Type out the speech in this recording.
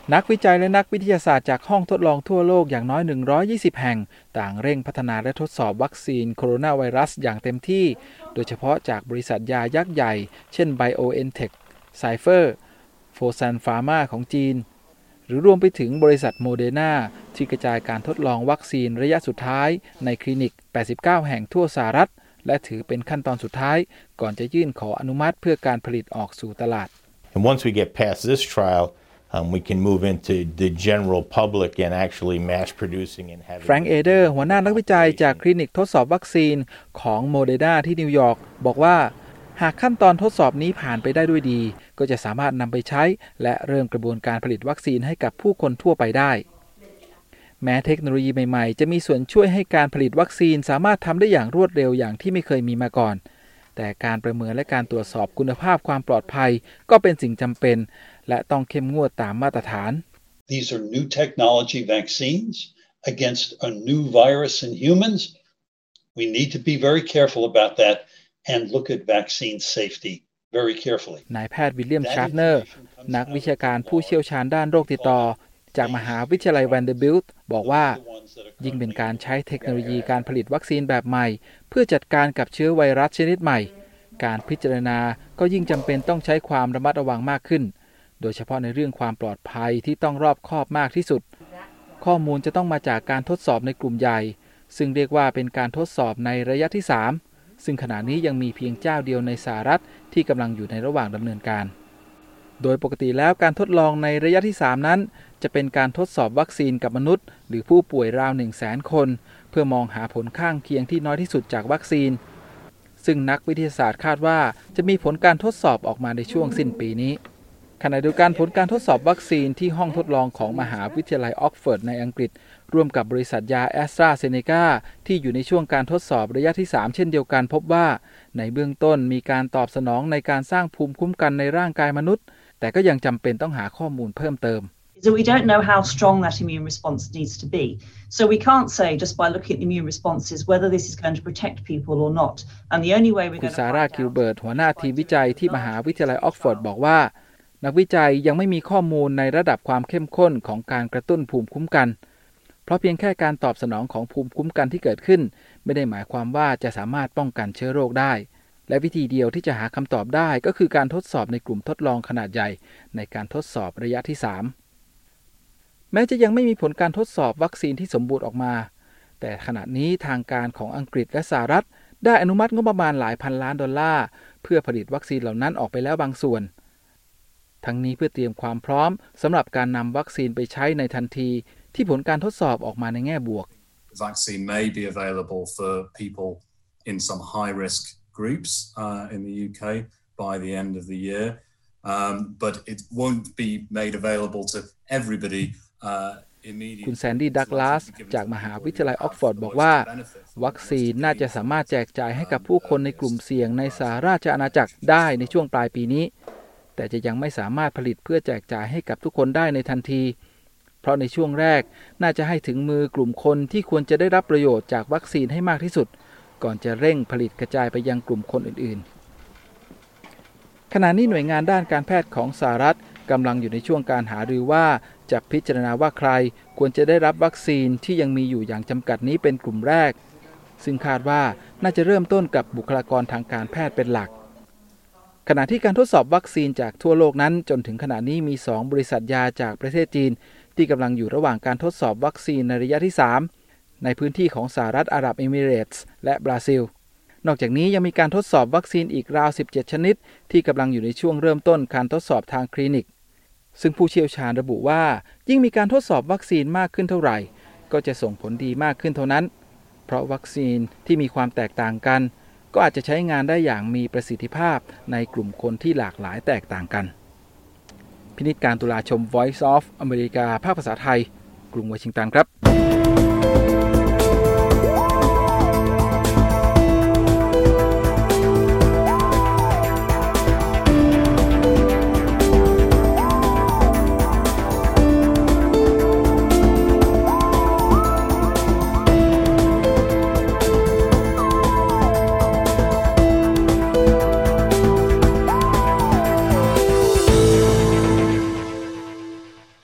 นักวิจัยและนักวิทยาศาสตร์จากห้องทดลองทั่วโลกอย่างน้อย120แห่งต่างเร่งพัฒนาและทดสอบวัคซีนโคโรนาไวรัสอย่างเต็มที่โดยเฉพาะจากบริษัทยายักษ์ใหญ่เช่น BioNTech, Pfizer, Fosun Pharma ของจีนหรือรวมไปถึงบริษัทโมเดอร์นาที่กระจายการทดลองวัคซีนระยะสุดท้ายในคลินิก89แห่งทั่วสหรัฐและถือเป็นขั้นตอนสุดท้ายก่อนจะยื่นขออนุมัติเพื่อการผลิตออกสู่ตลาด And once we get past this trial, we can move into the general public and actually mass producing and having แฟรงค์เอเดอร์หัวหน้านักวิจัยจากคลินิกทดสอบวัคซีนของโมเดอร์นาที่นิวยอร์กบอกว่าหากขั้นตอนทดสอบนี้ผ่านไปได้ด้วยดีก็จะสามารถนำไปใช้และเริ่มกระบวนการผลิตวัคซีนให้กับผู้คนทั่วไปได้แม้เทคโนโลยีใหม่ๆจะมีส่วนช่วยให้การผลิตวัคซีนสามารถทำได้อย่างรวดเร็วอย่างที่ไม่เคยมีมาก่อนแต่การประเมินและการตรวจสอบคุณภาพความปลอดภัยก็เป็นสิ่งจำเป็นและต้องเข้มงวดตามมาตรฐาน These are new technology vaccines against a new virus in humans. We need to be very careful about that and look at vaccine safety very carefully. นายแพทย์วิลเลียมชาร์ตเนอร์นักวิชาการผู้เชี่ยวชาญด้านโรคติดต่อจากมหาวิทยาลัยแวนเดอร์บิลต์บอกว่ายิ่งเป็นการใช้เทคโนโลยีการผลิตวัคซีนแบบใหม่เพื่อจัดการกับเชื้อไวรัสชนิดใหม่การพิจารณาก็ยิ่งจำเป็นต้องใช้ความระมัดระวังมากขึ้นโดยเฉพาะในเรื่องความปลอดภัยที่ต้องรอบคอบมากที่สุดข้อมูลจะต้องมาจากการทดสอบในกลุ่มใหญ่ซึ่งเรียกว่าเป็นการทดสอบในระยะที่3ซึ่งขณะนี้ยังมีเพียงเจ้าเดียวในสหรัฐที่กำลังอยู่ในระหว่างดำเนินการโดยปกติแล้วการทดลองในระยะที่3นั้นจะเป็นการทดสอบวัคซีนกับมนุษย์หรือผู้ป่วยราว 100,000 คนเพื่อมองหาผลข้างเคียงที่น้อยที่สุดจากวัคซีนซึ่งนักวิทยาศาสตร์คาดว่าจะมีผลการทดสอบออกมาในช่วงสิ้นปีนี้ขณะเดียวกันผลการทดสอบวัคซีนที่ห้องทดลองของมหาวิทยาลัยออกฟอร์ดในอังกฤษร่วมกับบริษัทยาแอสตราเซเนกาที่อยู่ในช่วงการทดสอบระยะที่3เช่นเดียวกันพบว่าในเบื้องต้นมีการตอบสนองในการสร้างภูมิคุ้มกันในร่างกายมนุษย์แต่ก็ยังจำเป็นต้องหาข้อมูลเพิ่มเติม So we don't know how strong that immune response needs to be. So we can't say just by looking at the immune responses whether this is going to protect people or not. And the only way we're going to คุณซาร่าคิลเบิร์ตหัวหน้าทีมวิจัยที่มหาวิทยาลัยออกฟอร์ดบอกว่านักวิจัยยังไม่มีข้อมูลในระดับความเข้มข้นของการกระตุ้นภูมิคุ้มกันเพราะเพียงแค่การตอบสนองของภูมิคุ้มกันที่เกิดขึ้นไม่ได้หมายความว่าจะสามารถป้องกันเชื้อโรคได้และวิธีเดียวที่จะหาคำตอบได้ก็คือการทดสอบในกลุ่มทดลองขนาดใหญ่ในการทดสอบระยะที่3แม้จะยังไม่มีผลการทดสอบวัคซีนที่สมบูรณ์ออกมาแต่ขณะนี้ทางการของอังกฤษและสหรัฐได้อนุมัติงบประมาณหลายพันล้านดอลลาร์เพื่อผลิตวัคซีนเหล่านั้นออกไปแล้วบางส่วนทั้งนี้เพื่อเตรียมความพร้อมสำหรับการนำวัคซีนไปใช้ในทันทีที่ผลการทดสอบออกมาในแง่บวก Vaccine may be available for people in some high risk groups in the UK by the end of the year, but it won't be made available to everybody immediately. คุณแซนดี้ดักลาสจากมหาวิทยาลัยออกฟอร์ดบอกว่าวัคซีนน่าจะสามารถแจกจ่ายให้กับผู้คนในกลุ่มเสี่ยงในสหราชอาณาจักรได้ในช่วงปลายปีนี้แต่จะยังไม่สามารถผลิตเพื่อแจกจ่ายให้กับทุกคนได้ในทันทีเพราะในช่วงแรกน่าจะให้ถึงมือกลุ่มคนที่ควรจะได้รับประโยชน์จากวัคซีนให้มากที่สุดก่อนจะเร่งผลิตกระจายไปยังกลุ่มคนอื่นๆขณะนี้หน่วยงานด้านการแพทย์ของสหรัฐกำลังอยู่ในช่วงการหารือว่าจะพิจารณาว่าใครควรจะได้รับวัคซีนที่ยังมีอยู่อย่างจำกัดนี้เป็นกลุ่มแรกซึ่งคาดว่าน่าจะเริ่มต้นกับบุคลากรทางการแพทย์เป็นหลักขณะที่การทดสอบวัคซีนจากทั่วโลกนั้นจนถึงขณะนี้มี2บริษัทยาจากประเทศจีนที่กำลังอยู่ระหว่างการทดสอบวัคซีนในระยะที่3ในพื้นที่ของสหรัฐอาหรับเอมิเรตส์และบราซิลนอกจากนี้ยังมีการทดสอบวัคซีนอีกราว17ชนิดที่กำลังอยู่ในช่วงเริ่มต้นการทดสอบทางคลินิกซึ่งผู้เชี่ยวชาญระบุว่ายิ่งมีการทดสอบวัคซีนมากขึ้นเท่าไหร่ก็จะส่งผลดีมากขึ้นเท่านั้นเพราะวัคซีนที่มีความแตกต่างกันก็อาจจะใช้งานได้อย่างมีประสิทธิภาพในกลุ่มคนที่หลากหลายแตกต่างกันพินิจการตุลาชม Voice of America ภาคภาษาไทยกรุงวอชิงตันครับ